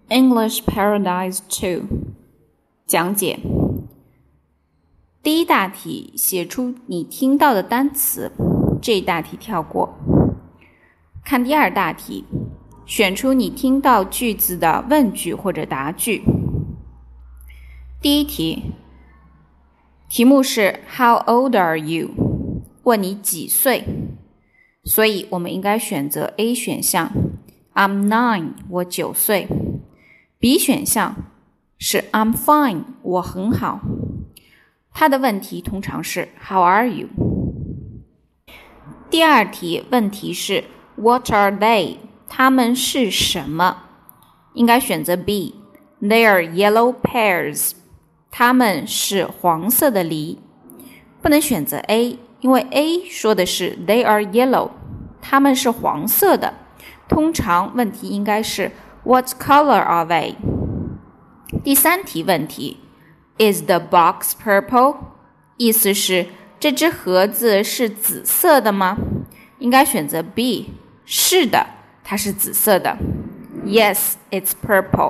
English Paradise 2 讲解。第一大题，写出你听到的单词，这一大题跳过。看第二大题，选出你听到句子的问句或者答句。第一题，题目是 How old are you？ 问你几岁，所以我们应该选择 A 选项 I'm 9， 我9岁。B 选项是 I'm fine， 我很好。他的问题通常是 How are you？ 第二题问题是 What are they？ 他们是什么？应该选择 B They are yellow pears， 他们是黄色的梨。不能选择 A， 因为 A 说的是 They are yellow， 他们是黄色的。通常问题应该是 What color are they？ 第三题问题 Is the box purple？ 意思是这只盒子是紫色的吗？应该选择 B， 是的，它是紫色的。Yes, it's purple。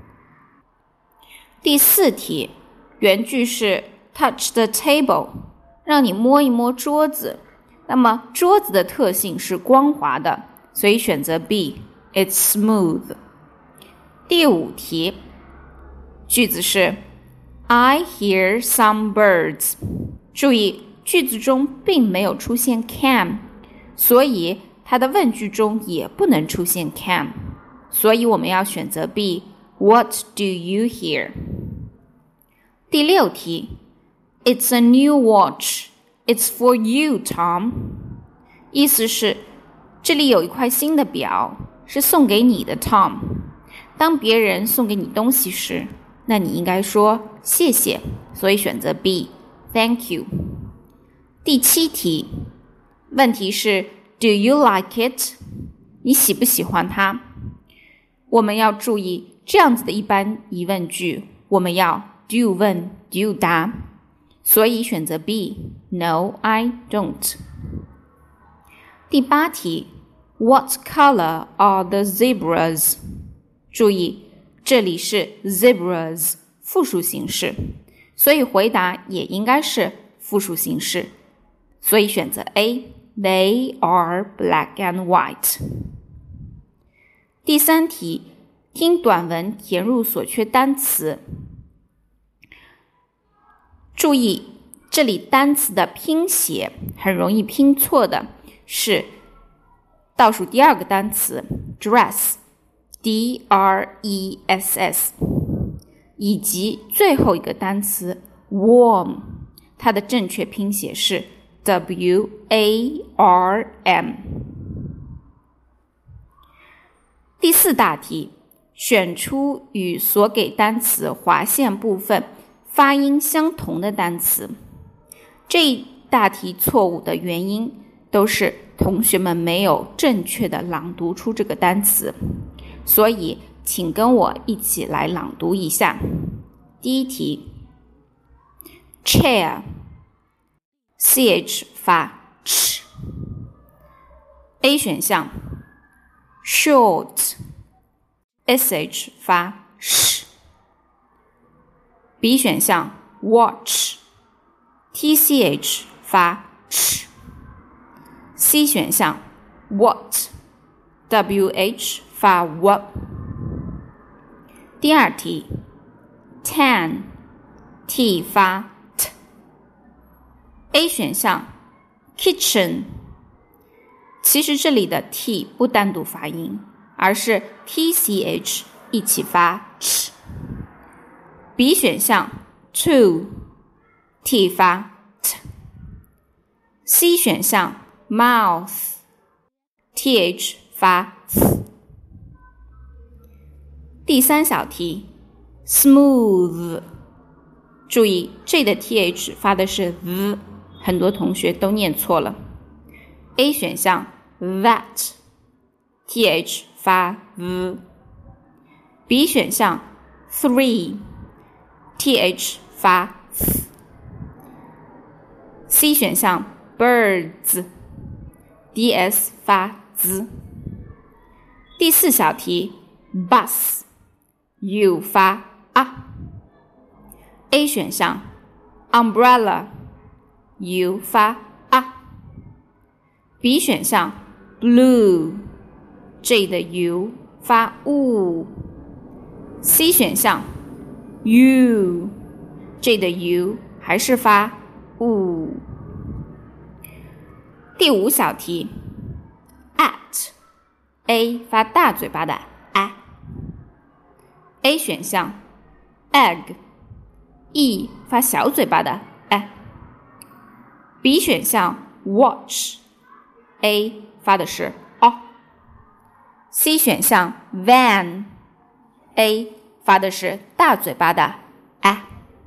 第四题原句是 Touch the table， 让你摸一摸桌子。那么桌子的特性是光滑的，所以选择 B， It's smooth。 第五题句子是 I hear some birds， 注意句子中并没有出现 can， 所以它的问句中也不能出现 can， 所以我们要选择 B What do you hear？ 第六题 It's a new watch， It's for you, Tom。 意思是这里有一块新的表，是送给你的 Tom。 当别人送给你东西时，那你应该说谢谢，所以选择 B Thank you。 第七题问题是 Do you like it？ 你喜不喜欢它？我们要注意这样子的一般疑问句，我们要 do 问 do 答，所以选择 B No, I don't。 第八题 What color are the zebras？ 注意这里是 zebras 复数形式，所以回答也应该是复数形式，所以选择 A They are black and white。 第三题听短文填入所缺单词。注意这里单词的拼写很容易拼错的是倒数第二个单词 dress D-R-E-S-S， 以及最后一个单词 warm， 它的正确拼写是 W-A-R-M。 第四大题选出与所给单词划线部分发音相同的单词。这一大题错误的原因都是同学们没有正确的朗读出这个单词，所以请跟我一起来朗读一下。第一题 chair ch 发 ch。 A 选项 short sh 发 sh。 B 选项 watch tch 发 ch。 C 选项 what wh 发 w。 第二题 tan t 发 t。 A 选项 kitchen， 其实这里的 t 不单独发音，而是 tch 一起发 ch。 B 选项 to t 发 t。 C 选项 mouth th 发 th。 第三小题 smooth， 注意这里的 th 发的是 th， 很多同学都念错了。 A 选项 that th 发 th。 B 选项 three th 发 th。 C 选项 birds ds 发 z。 第四小题 bus ，u 发啊。A 选项 umbrella，u 发啊。B 选项 blue，J 的 u 发 u。C 选项 u，J 的 u 还是发 u。第5小题 at，A 发大嘴巴的 A。A 选项 egg，E 发小嘴巴的 B 选项 watch，A 发的是 O。C 选项 van，A 发的是大嘴巴的 A。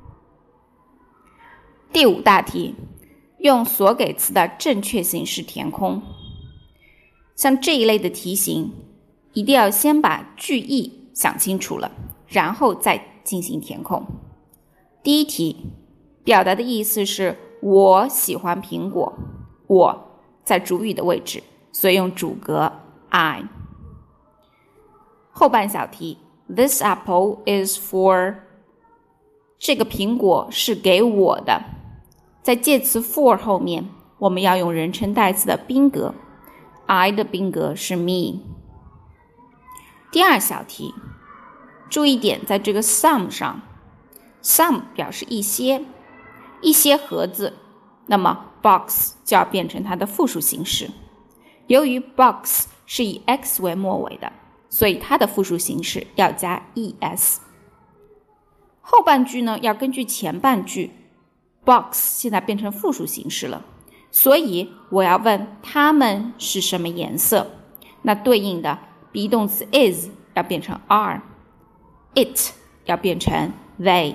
第5大题，用所给词的正确形式填空。像这一类的题型，一定要先把句意想清楚了，然后再进行填空。第一题，表达的意思是我喜欢苹果，我在主语的位置，所以用主格 I。后半小题 This apple is for， 这个苹果是给我的，在介词 for 后面，我们要用人称代词的宾格 I 的宾格是 me。 第2小题，注意点在这个 some 上， some 表示一些盒子，那么 box 就要变成它的复数形式。由于 box 是以 x 为末尾的，所以它的复数形式要加 es。 后半句呢，要根据前半句， box 现在变成复数形式了，所以我要问它们是什么颜色，那对应的 be 动词 is 要变成 are， it 要变成 they。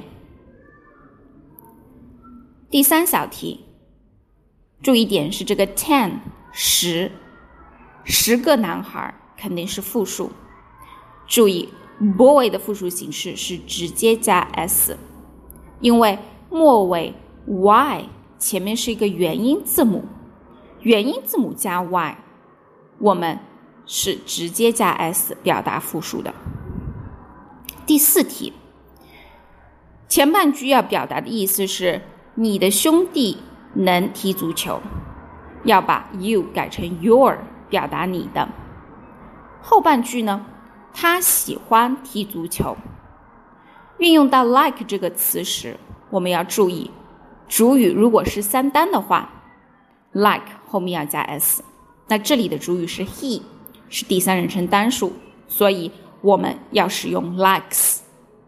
第3小题，注意点是这个 10 10个男孩肯定是复数，注意 boy 的复数形式是直接加 s， 因为末尾 y 前面是一个元音字母，元音字母加 y， 我们是直接加 s 表达复数的。第4题，前半句要表达的意思是你的兄弟能踢足球，要把 you 改成 your 表达你的。后半句呢，他喜欢踢足球，运用到 like 这个词时，我们要注意主语如果是3单的话， like 后面要加 s， 那这里的主语是 he， 是第3人称单数，所以我们要使用 likes。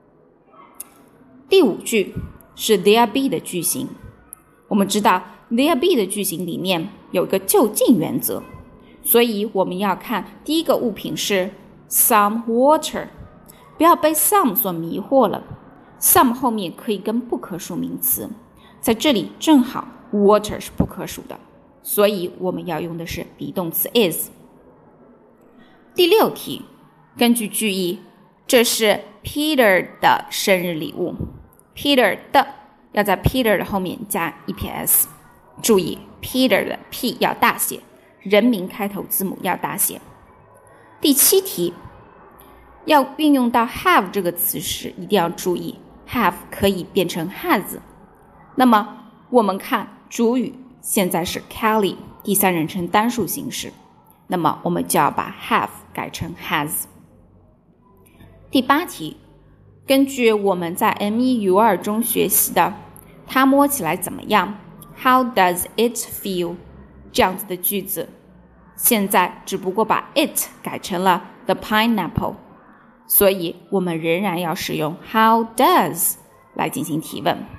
第5句是 there be 的句型，我们知道 there be 的句型里面有一个就近原则，所以我们要看第一个物品是 some water， 不要被 some 所迷惑了， some 后面可以跟不可数名词，在这里正好 water 是不可数的，所以我们要用的是 be 动词 is。 第6题，根据句意，这是 Peter 的生日礼物， Peter 的要在 Peter 的后面加一撇 s， 注意 Peter 的 P 要大写，人名开头字母要大写。第7题，要运用到 have 这个词时，一定要注意 have 可以变成 has， 那么我们看主语现在是 Kelly 第3人称单数形式，那么我们就要把 have 改成 has。 第8题，根据我们在 M1U2 中学习的它摸起来怎么样， How does it feel 这样子的句子，现在只不过把 it 改成了 the pineapple， 所以我们仍然要使用 How does 来进行提问。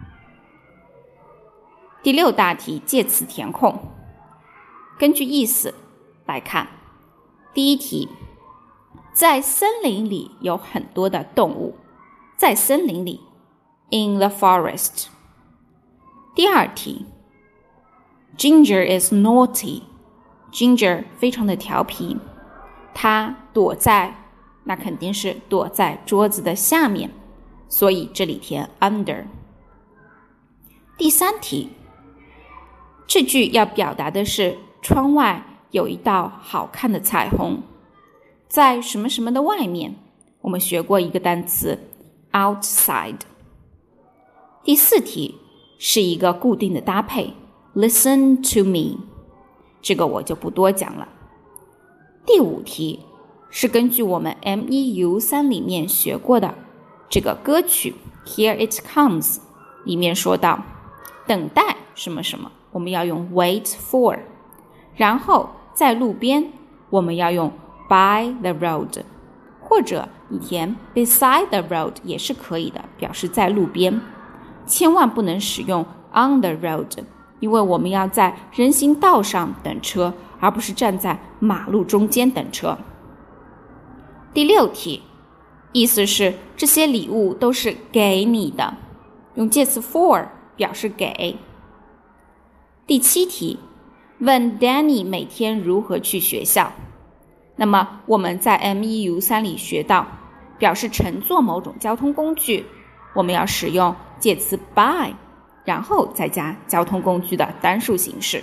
第6大题，介词填空，根据意思来看。第1题，在森林里有很多的动物，在森林里 in the forest。 第2题， Ginger is naughty， Ginger 非常的调皮，他躲在，那肯定是躲在桌子的下面，所以这里填 under。 第3题，这句要表达的是窗外有一道好看的彩虹，在什么什么的外面， 我们学过一个单词 outside。第4题是一个固定的搭配 listen to me， 这个我就不多讲了。第5题是根据我们 MEU3 里面学过的这个歌曲 Here It Comes 里面说到等待什么什么，我们要用 wait for， 然后在路边我们要用 by the road， 或者你填 beside the road 也是可以的，表示在路边，千万不能使用 on the road， 因为我们要在人行道上等车，而不是站在马路中间等车。第6题意思是这些礼物都是给你的，用介词 for 表示给。第7题问 Danny 每天如何去学校，那么我们在 MEU3 里学到表示乘坐某种交通工具，我们要使用介词 by， 然后再加交通工具的单数形式。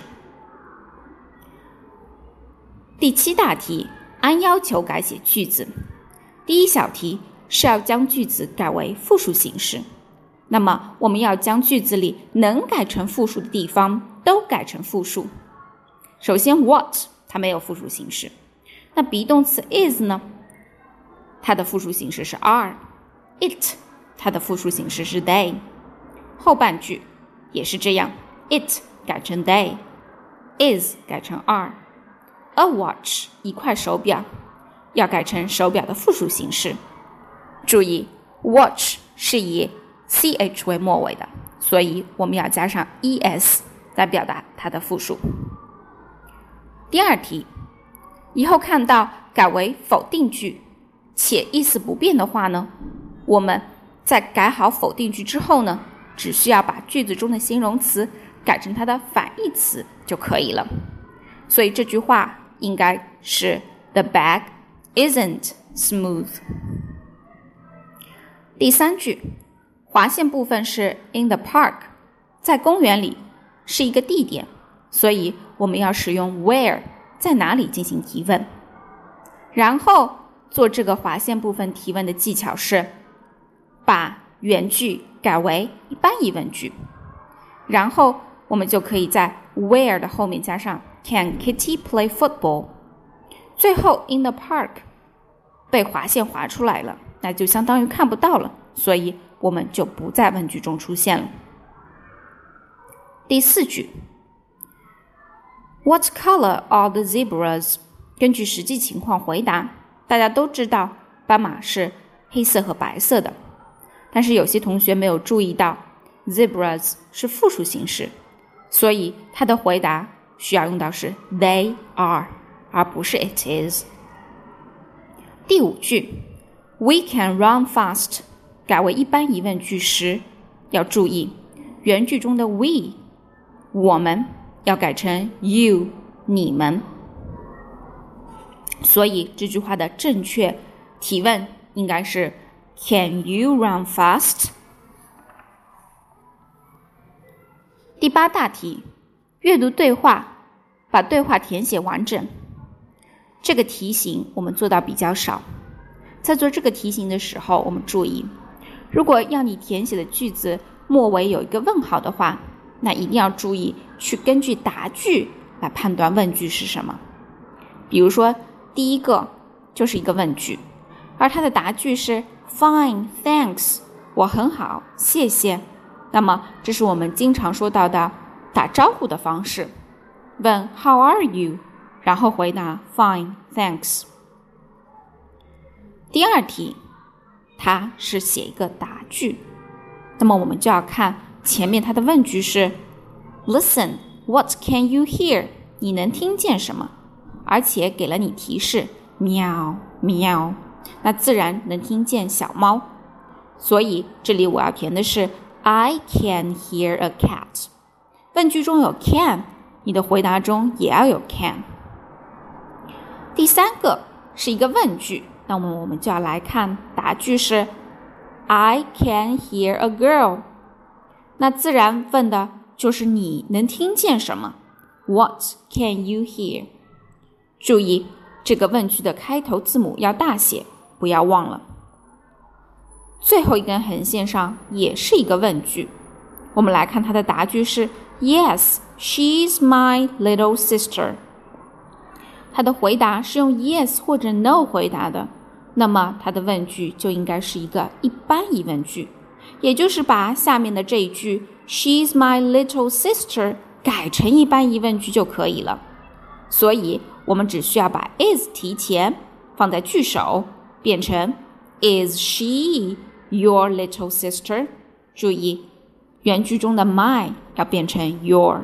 第7大题按要求改写句子。第1小题是要将句子改为复数形式，那么我们要将句子里能改成复数的地方都改成复数。首先 what 它没有复数形式，那 be 动词 is 呢，它的复数形式是 are， it 它的复数形式是 they， 后半句也是这样， it 改成 they， is 改成 are，A watch 一块手表要改成手表的复数形式。注意 watch 是以 ch 为末尾的，所以我们要加上 es 来表达它的复数。第2题以后看到改为否定句且意思不变的话呢，我们在改好否定句之后呢，只需要把句子中的形容词改成它的反义词就可以了。所以这句话应该是 The bag isn't smooth。 第3句划线部分是 in the park， 在公园里是一个地点，所以我们要使用 where 在哪里进行提问，然后做这个划线部分提问的技巧是把原句改为一般疑问句，然后我们就可以在 where 的后面加上Can Kitty play football？ 最后 in the park 被划线划出来了，那就相当于看不到了，所以我们就不在问句中出现了。第4句 What color are the zebras？ 根据实际情况回答。大家都知道斑马是黑色和白色的，但是有些同学没有注意到 zebras 是复数形式，所以他的回答需要用到是 they are， 而不是 it is。 第5句 We can run fast 改为一般疑问句时，要注意原句中的 we 我们要改成 you 你们，所以这句话的正确提问应该是 Can you run fast？ 第8大题阅读对话，把对话填写完整。这个题型我们做到比较少，在做这个题型的时候，我们注意，如果要你填写的句子末尾有一个问号的话，那一定要注意去根据答句来判断问句是什么。比如说第一个就是一个问句，而它的答句是 Fine, thanks， 我很好，谢谢。那么这是我们经常说到的打招呼的方式，问 How are you？ 然后回答 Fine, thanks。 第2题它是写一个答句，那么我们就要看前面它的问句是 Listen, what can you hear？ 你能听见什么？而且给了你提示喵喵，那自然能听见小猫，所以这里我要填的是 I can hear a cat。 问句中有 can， 你的回答中也要有 can。 第3个是一个问句，那么我们就要来看答句是 I can hear a girl， 那自然问的就是你能听见什么， What can you hear？ 注意这个问句的开头字母要大写，不要忘了。 最后一根横线上也是一个问句。我们来看它的答句是 Yes, she's my little sister。 它的回答是用 yes 或者 no 回答的，那么它的问句就应该是一个一般疑问句，也就是把下面的这一句 She's my little sister 改成一般疑问句就可以了。所以我们只需要把 is 提前放在句首，变成 Is she your little sister？ 注意原句中的 my 要变成 your。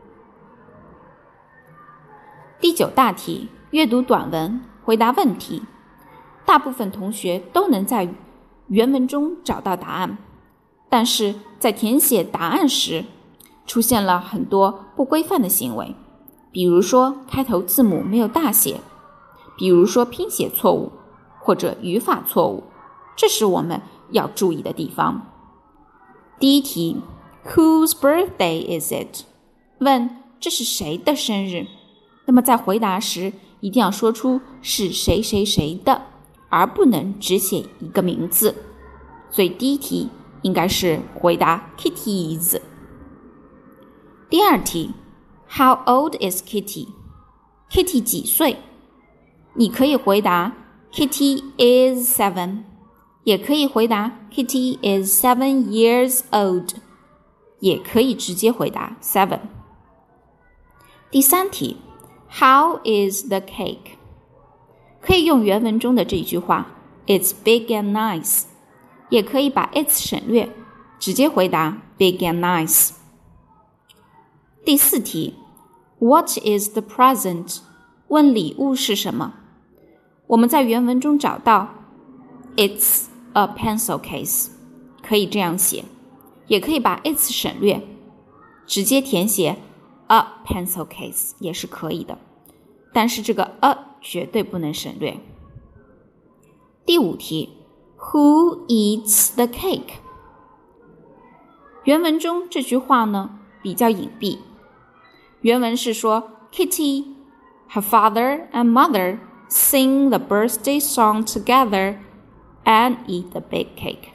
第9大题，阅读短文，回答问题。大部分同学都能在原文中找到答案，但是在填写答案时出现了很多不规范的行为，比如说开头字母没有大写，比如说拼写错误或者语法错误，这是我们要注意的地方。第一题 Whose birthday is it？ 问这是谁的生日，那么在回答时一定要说出是谁谁谁的，而不能只写一个名字。所以第一题应该是回答 Kitty's。 第二题 How old is Kitty？ Kitty 几岁？你可以回答 Kitty is 7， 也可以回答 Kitty is 7 years old， 也可以直接回答 7。 第三题 How is the cake？ 可以用原文中的这句话 It's big and nice， 也可以把 it's 省略，直接回答 big and nice。 第四题 What is the present？ 问礼物是什么？我们在原文中找到 It's a pencil case， 可以这样写，也可以把 it's 省略，直接填写 a pencil case 也是可以的，但是这个 a 绝对不能省略。第五题 Who eats the cake？ 原文中这句话呢比较隐蔽，原文是说 Kitty, her father and mother sing the birthday song together and eat the big cake。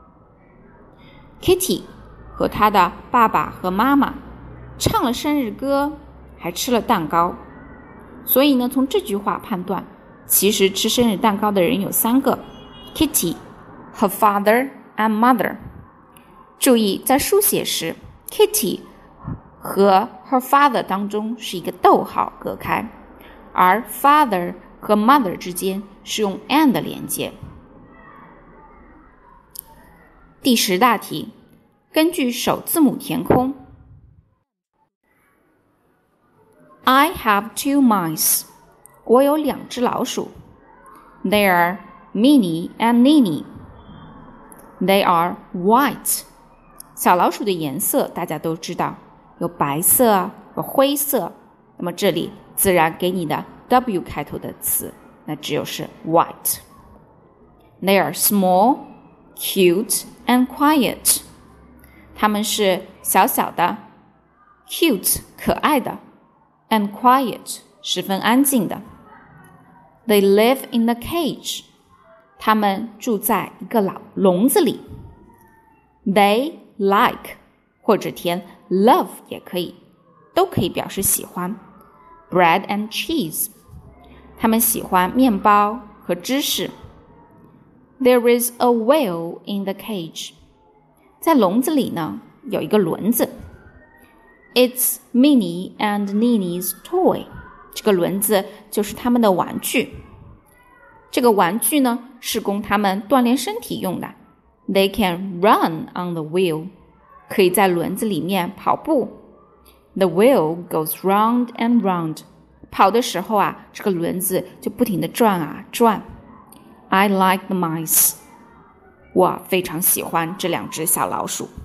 Kitty 和她的爸爸和妈妈唱了生日歌，还吃了蛋糕。所以呢，从这句话判断，其实吃生日蛋糕的人有3个 Kitty, her father and mother。 注意在书写时 Kitty 和 her father 当中是一个逗号隔开，而 father 和 mother 之间是用 and 连接。第10大题，根据首字母填空。I have 2 mice， 我有2只老鼠。They are Minnie and Ninny。 They are white。 小老鼠的颜色大家都知道，有白色，有灰色，那么这里自然给你的 W 开头的词，那只有是 white。 They are small, cute and quiet。 它们是小小的 cute 可爱的and quiet 十分安静的。 They live in the cage。 他们住在一个笼子里。 They like 或者填 love 也可以，都可以表示喜欢。 Bread and cheese。 他们喜欢面包和芝士。 There is a wheel in the cage。 在笼子里呢有一个轮子。It's Minnie and Ninny's toy。 这个轮子就是他们的玩具。这个玩具呢是供他们锻炼身体用的。 They can run on the wheel。 可以在轮子里面跑步。 The wheel goes round and round。 跑的时候啊，这个轮子就不停地转啊转。 I like the mice。 我非常喜欢这2只小老鼠。